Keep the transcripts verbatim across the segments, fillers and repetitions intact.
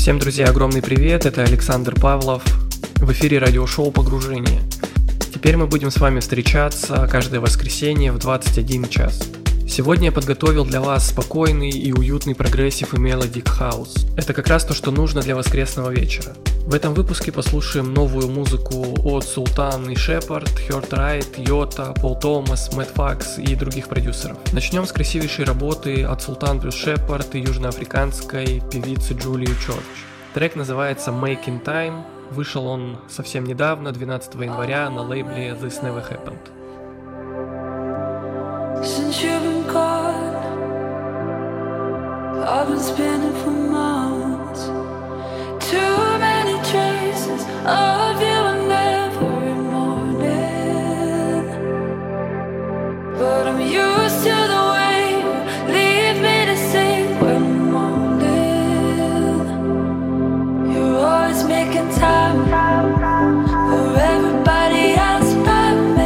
Всем, друзья, огромный привет, это Александр Павлов, в эфире радиошоу «Погружение». Теперь мы будем с вами встречаться каждое воскресенье в двадцать один час. Сегодня я подготовил для вас спокойный и уютный прогрессив и мелодик хаус. Это как раз то, что нужно для воскресного вечера. В этом выпуске послушаем новую музыку от Султан и Шепард, Hurt Right, Йота, Пол Томас, Мэтт Факс и других продюсеров. Начнем с красивейшей работы от Султан плюс Шепард и южноафриканской певицы Джулии Чорч. Трек называется Making Time, вышел он совсем недавно, двенадцатого января, на лейбле This Never Happened. Since you've been gone, I've been spinning for months. Too many traces of you in every morning, but I'm used to the way you leave me to sing when I'm moaning. You're always making time for everybody else but me.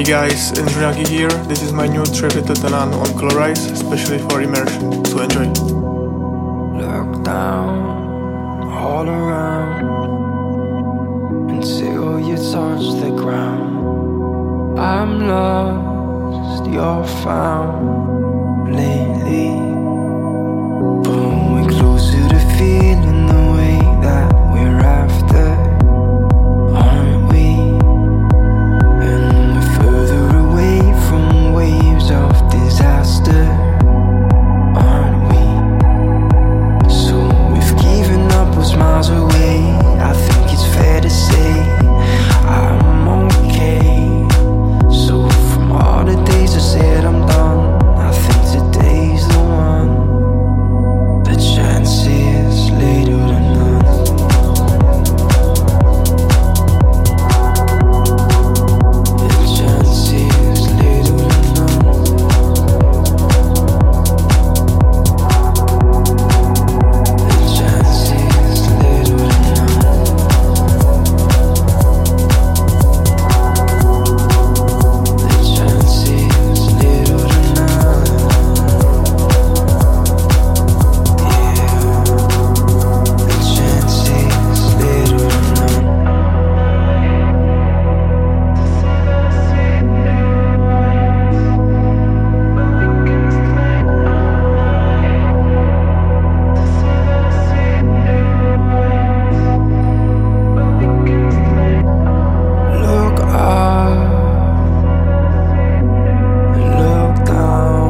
guys, Njunagi here. This is my new track with Tatanan on Colorize, especially for immersion. So enjoy. Look down, all around, until you touch the ground. I'm lost, you're found lately. But we're closer to feeling the way that we're after, aren't we? And we're further away from waves of disaster, aren't we? So if giving up was miles away, I think it's fair to say I'm okay. So from all the days I said I'm done, I think today's the one. The chances later than none. The chances later than none. The chances later than none. The chances later than none. Yeah, the chances later than none. Look up and look down.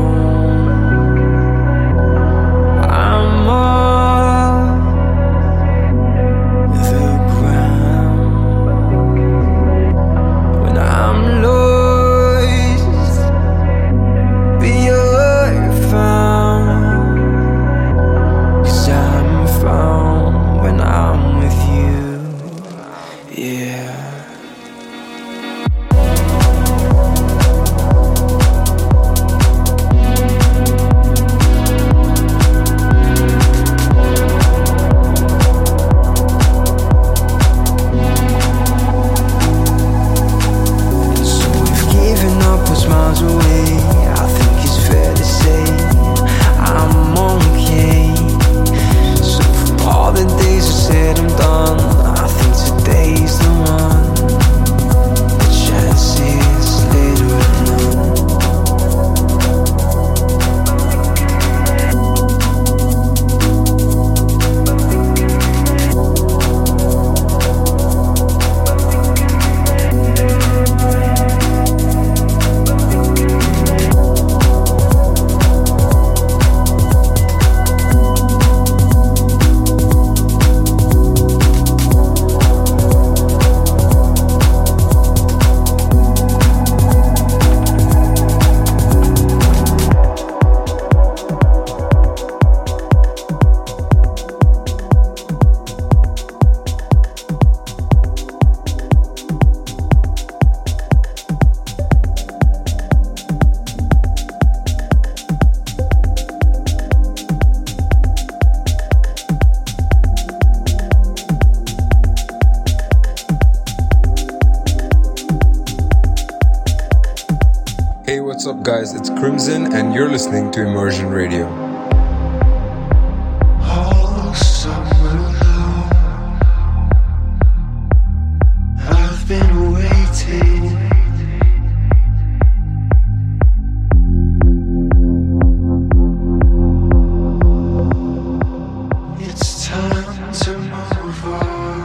I'm on the ground. When I'm lost, be you're found. 'Cause I'm found when I'm with you. Yeah. So if giving up was miles away, I think it's fair to say I'm okay. So from all the days I said I'm done, I think today's the one. The chances later than none. Hey, what's up, guys? It's Crimson, and you're listening to Immersion Radio. All summer long, I've been waiting. It's time to move on.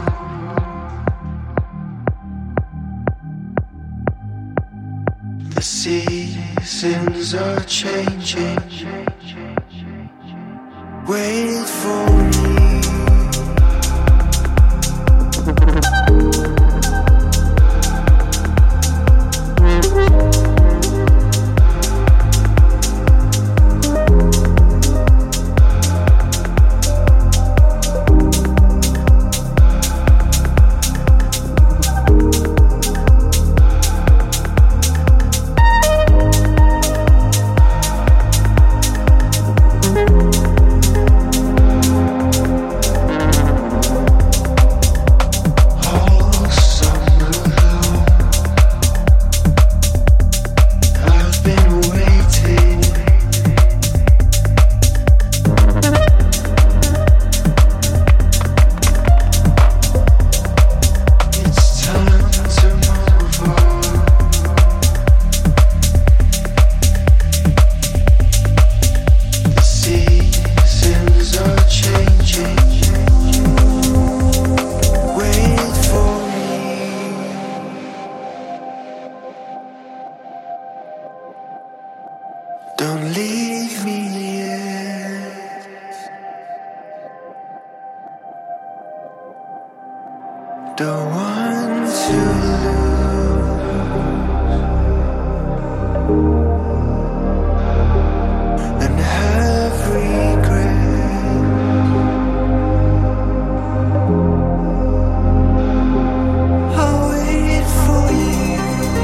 The seasons are changing. Wait for me. Don't leave me yet. Don't want to lose and have regret. I'll wait for you.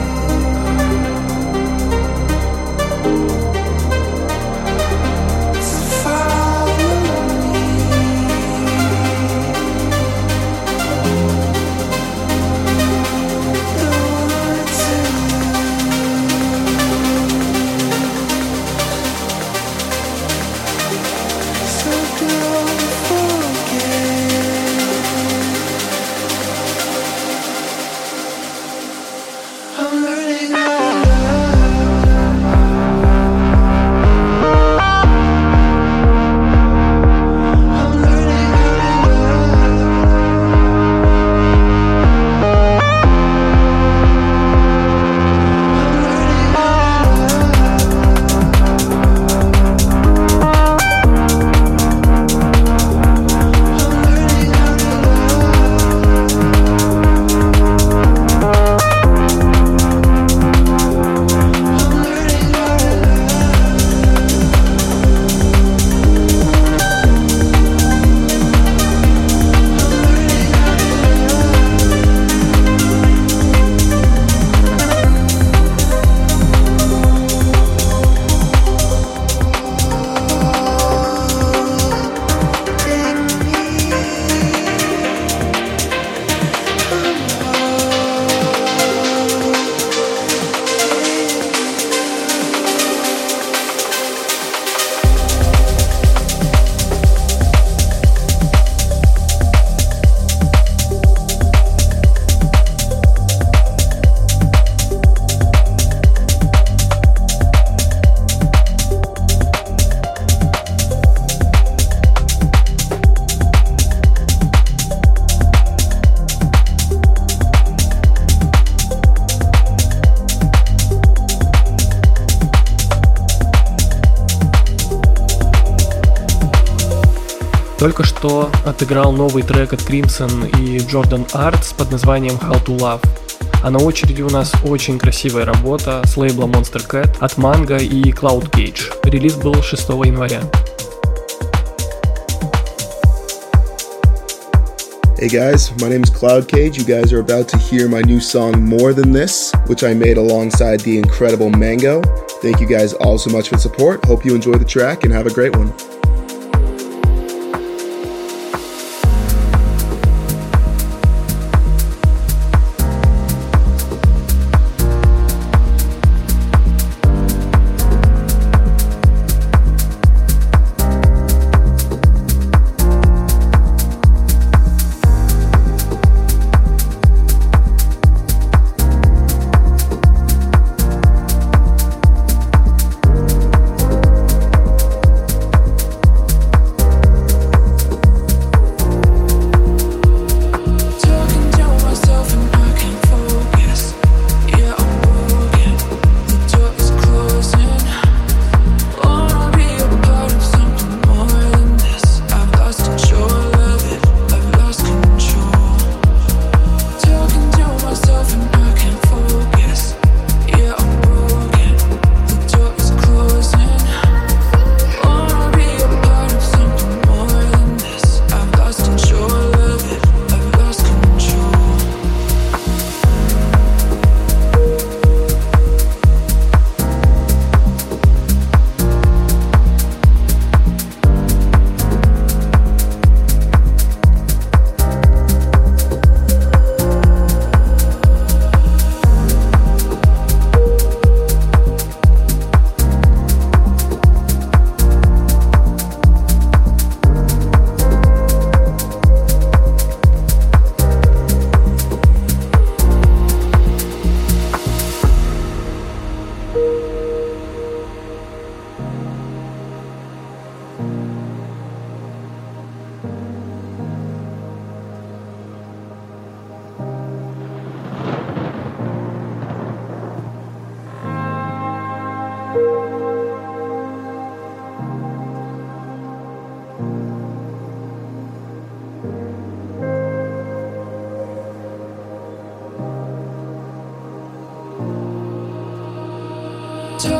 Только что отыграл новый трек от Crimson и Jordan Arts под названием How to Love. А на очереди у нас очень красивая работа с лейбла Monster Cat от Mango и Cloud Cage. Релиз был шестого января. Hey guys, my name is Cloud Cage. You guys are about to hear my new song More Than This, which I made alongside the incredible Mango. Thank you guys all so much for the support. Hope you enjoy the track and have a great one.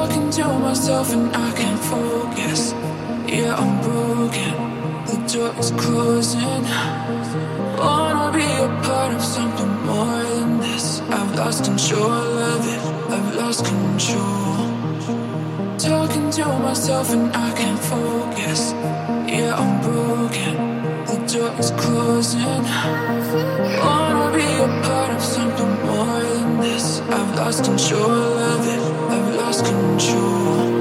Talking to myself and I can't focus. Yeah, I'm broken. The door is closing. Wanna be a part of something more than this. I've lost control of it. I've lost control. Talking to myself and I can't focus. Yeah, I'm broken. The door is closing. Wanna be a part of something more than this. I've lost control of it. I've lost control.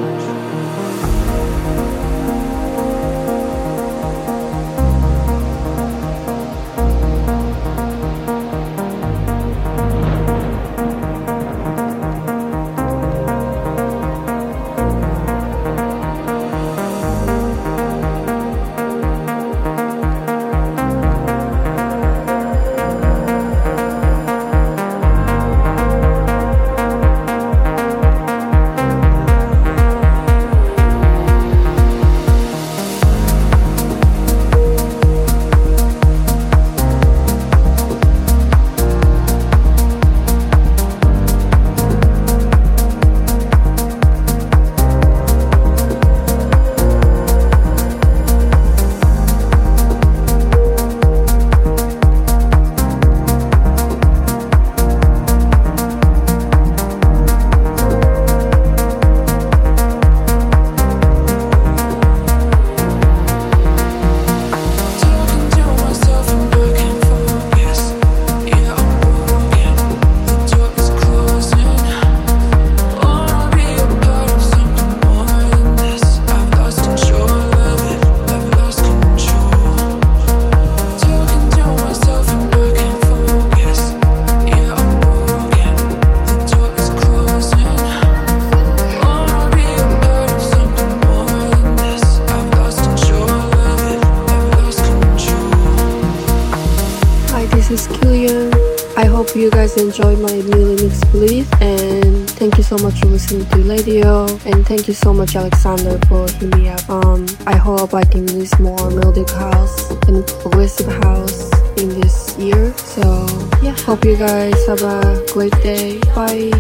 You guys enjoyed my new remix Believe, and thank you so much for listening to radio, and thank you so much Alexander for hitting me up. Um, I hope I can release more melodic house and progressive house in this year. So yeah, hope you guys have a great day. Bye.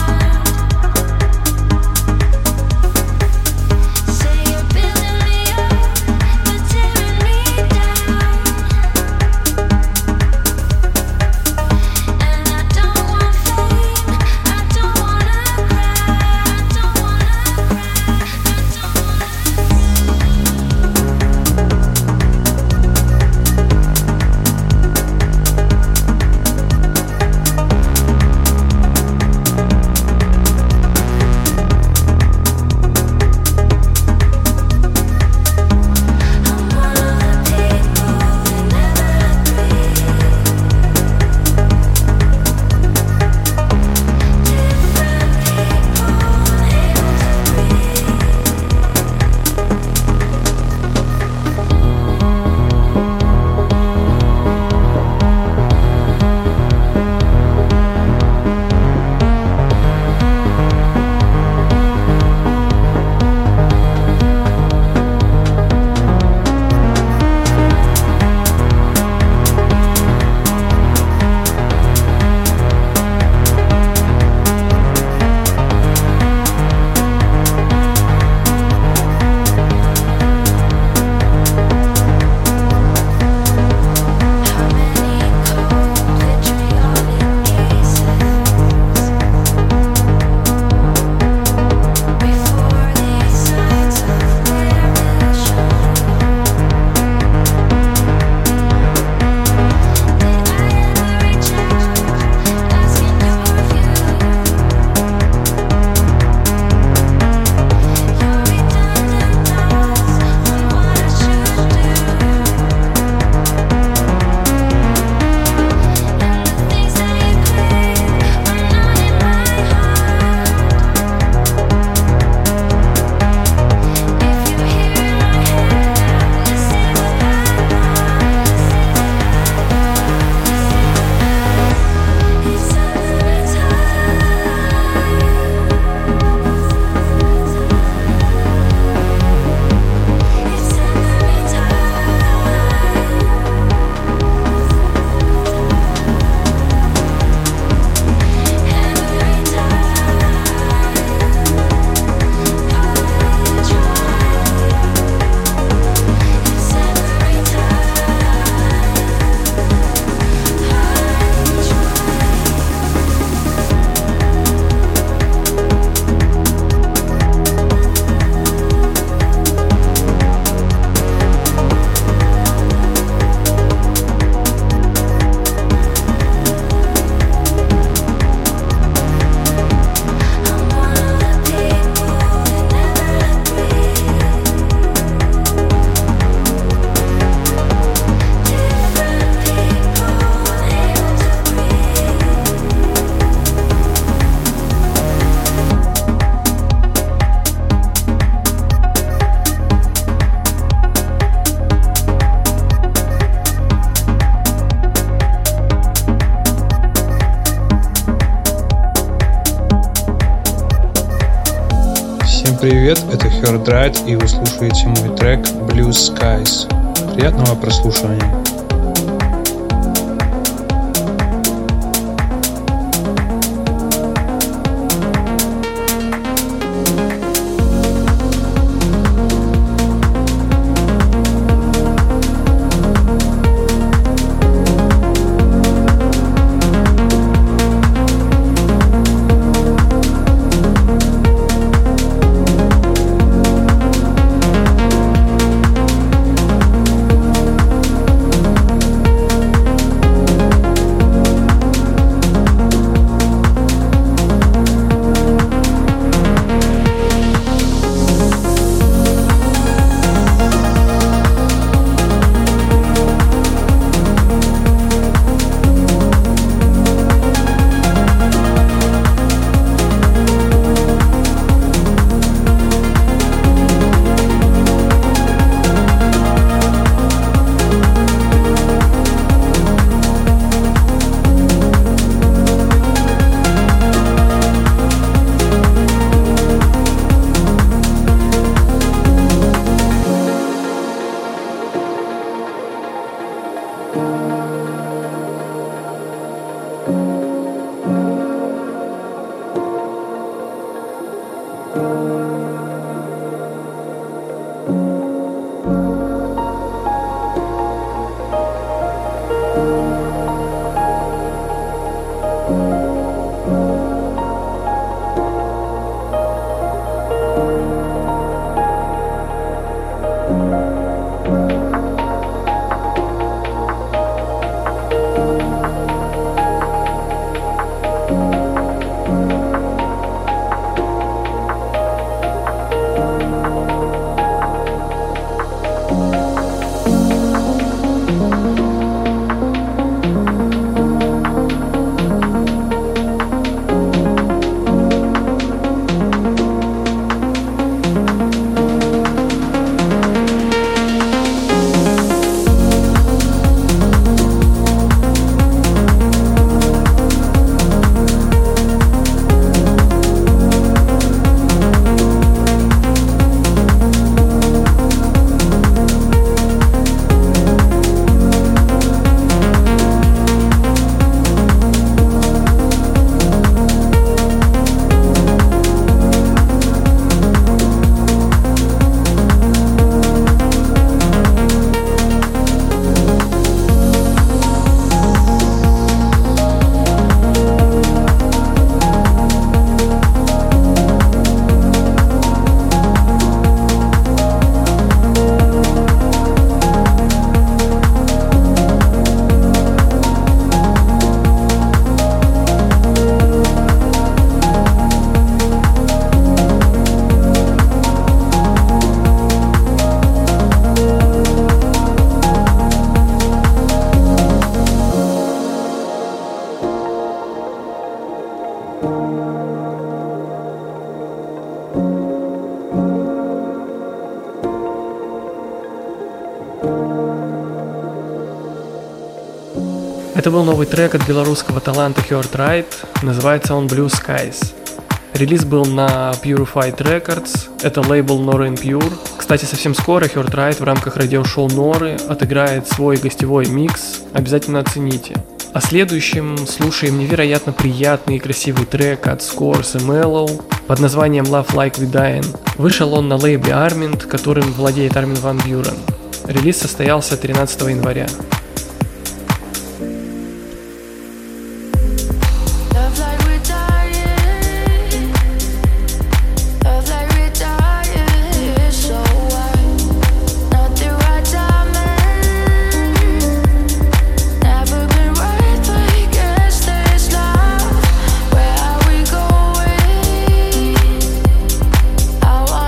Say you're building me up. привет, это Heartright, и вы слушаете мой трек Blue Skies. Приятного прослушивания. Это был новый трек от белорусского таланта Heartright, называется он Blue Skies. Релиз был на Purified Records, это лейбл Nora and Pure. Кстати, совсем скоро Heartright в рамках радиошоу Норы отыграет свой гостевой микс, обязательно оцените. А следующим слушаем невероятно приятный и красивый трек от Scores и Mellow под названием Love Like We Dying. Вышел он на лейбле Armint, которым владеет Армин ван Бюрен. Релиз состоялся тринадцатого января.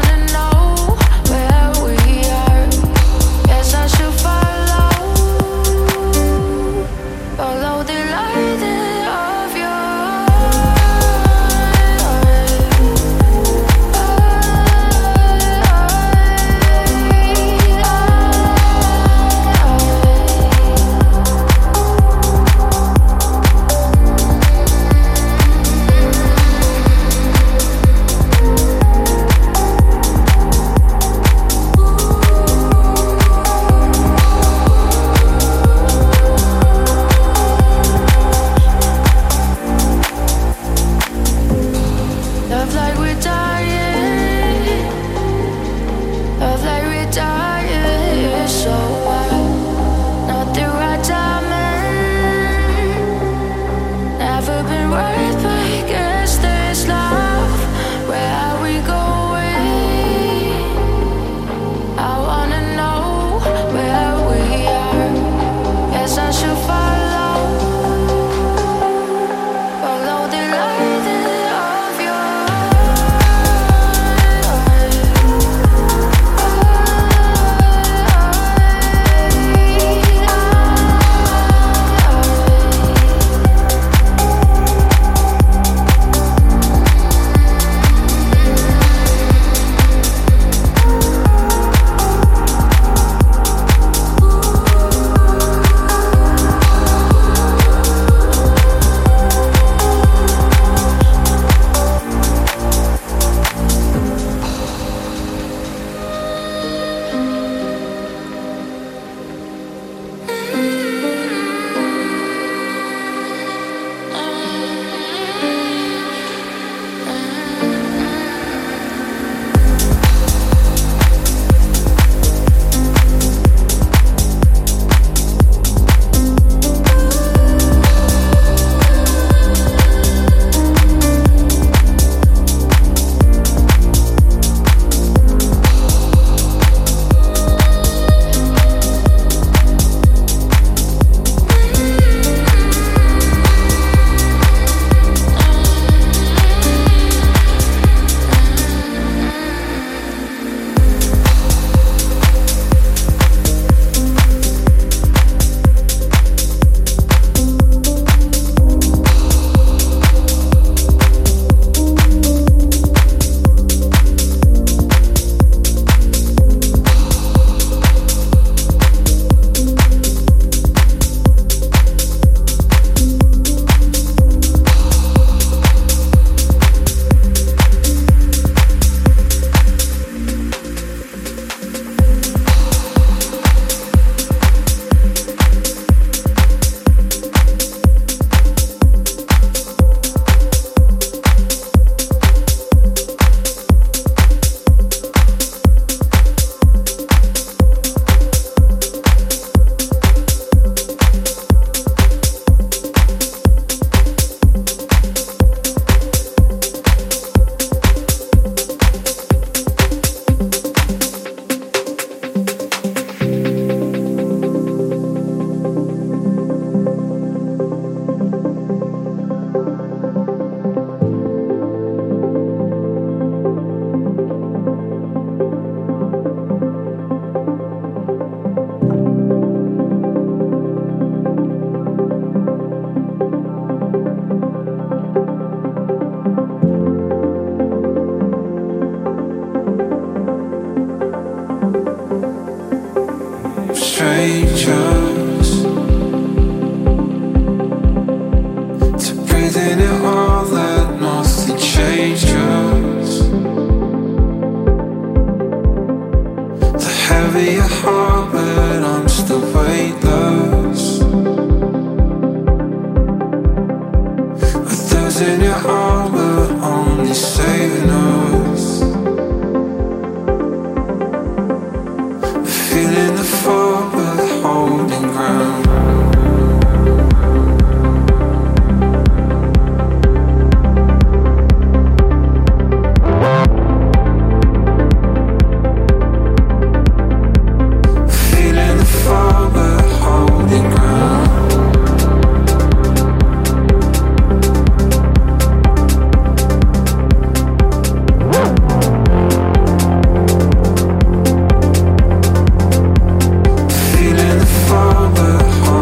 Follow ground. Feeling the fall, but holding ground. Feeling the fall, but holding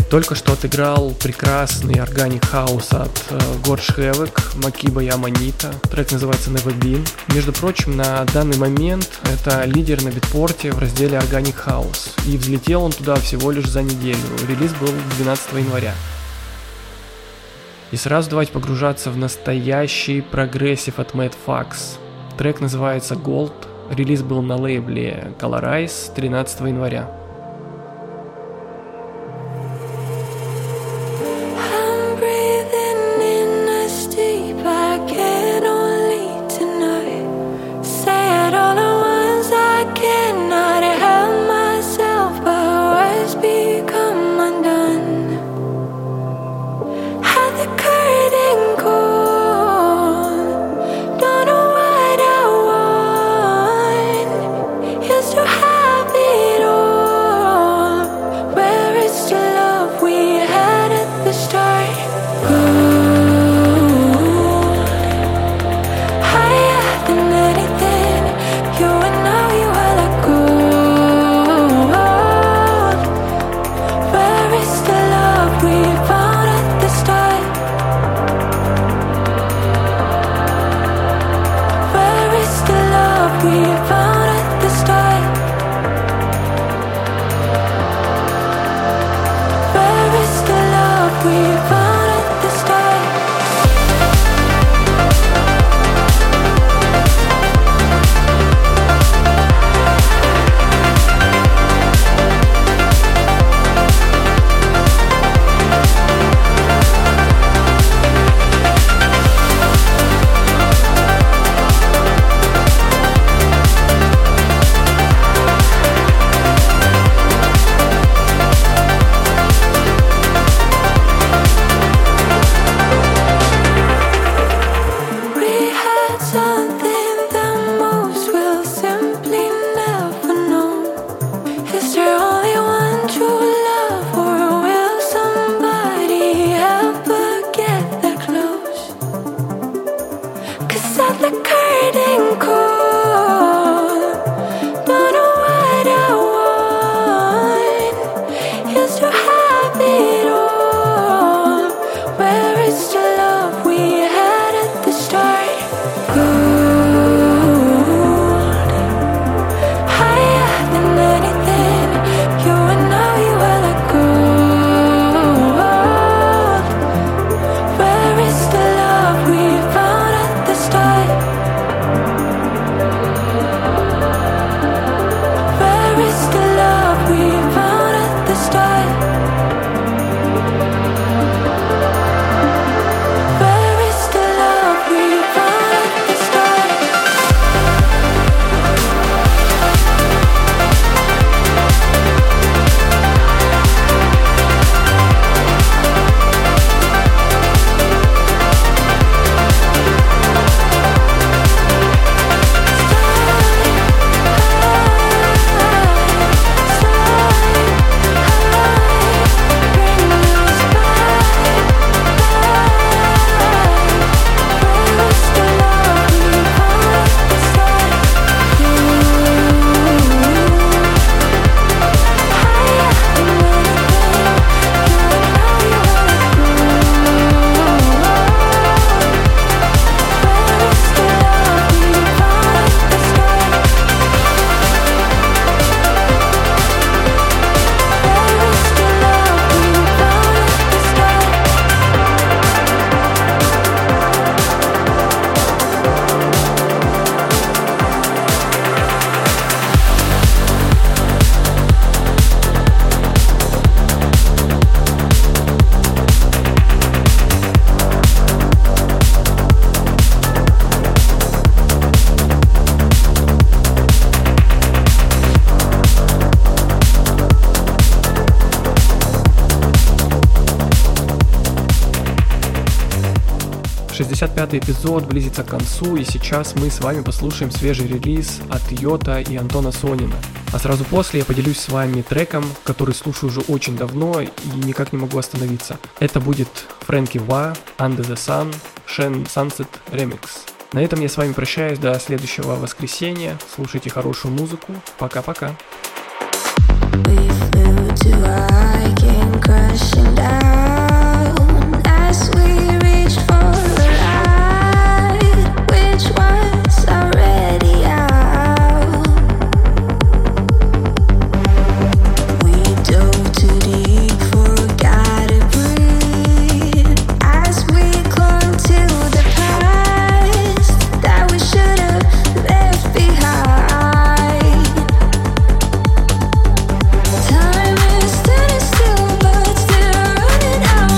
Только что отыграл прекрасный органик хаус от Gorge Havoc, Макиба и Аманита. Трек называется Never Been. Между прочим, на данный момент это лидер на битпорте в разделе Organic House. И взлетел он туда всего лишь за неделю. Релиз был двенадцатого января. И сразу давайте погружаться в настоящий прогрессив от Mad Fax. Трек называется Gold. Релиз был на лейбле Colorize тринадцатого января. шестьдесят пятый эпизод близится к концу, и сейчас мы с вами послушаем свежий релиз от Йота и Антона Сонина. А сразу после я поделюсь с вами треком, который слушаю уже очень давно и никак не могу остановиться. Это будет Фрэнки Ва, Under the Sun, Shen Sunset Remix. На этом я с вами прощаюсь до следующего воскресенья. Слушайте хорошую музыку. Пока-пока. We flew Time is standing still, but still running out.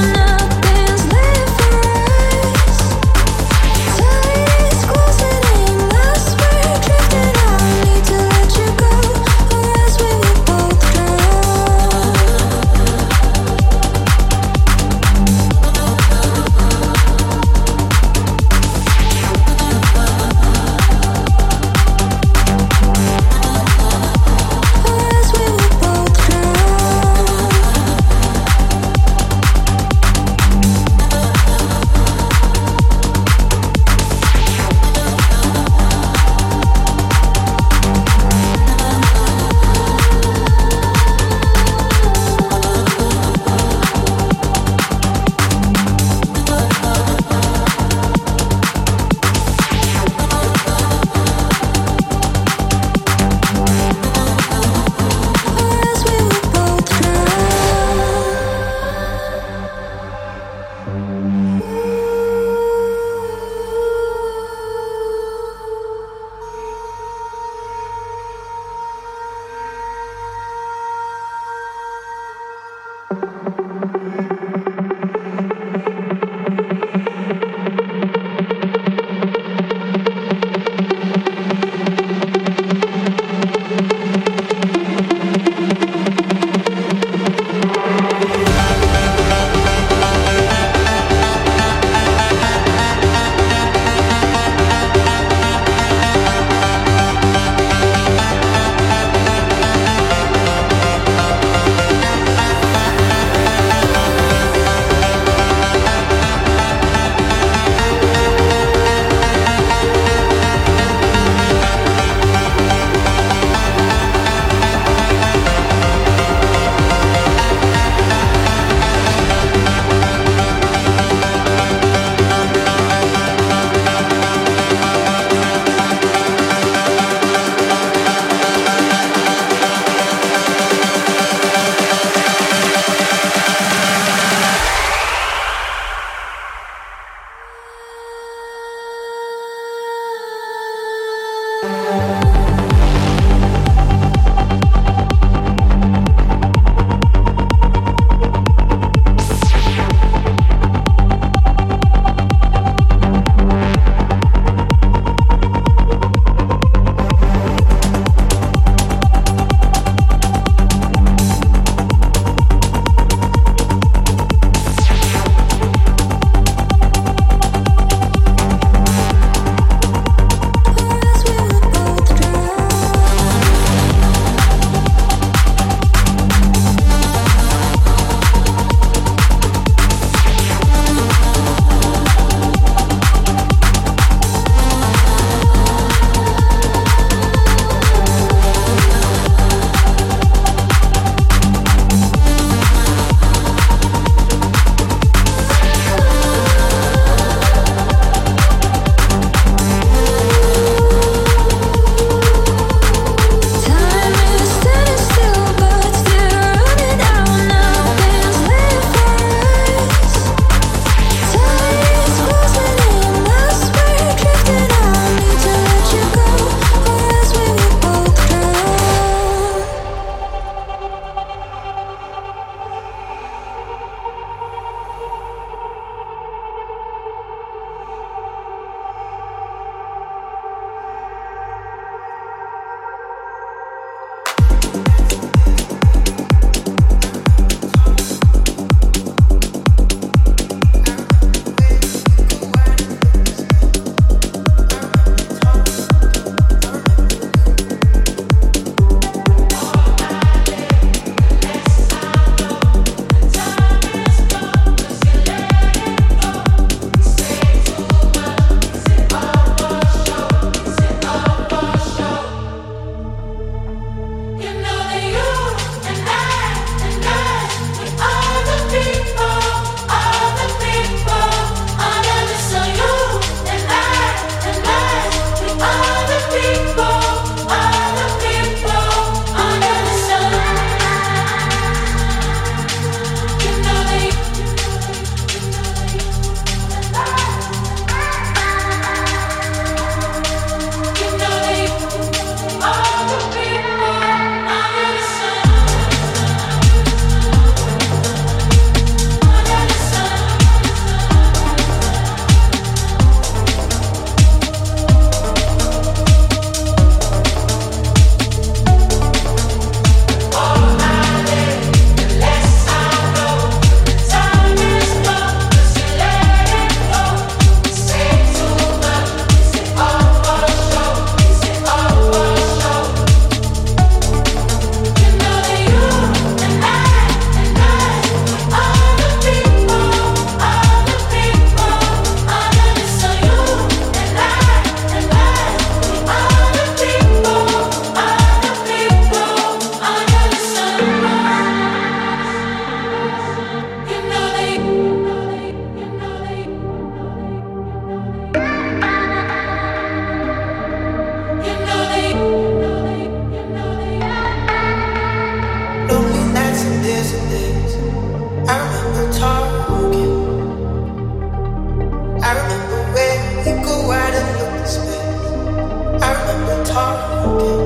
yeah.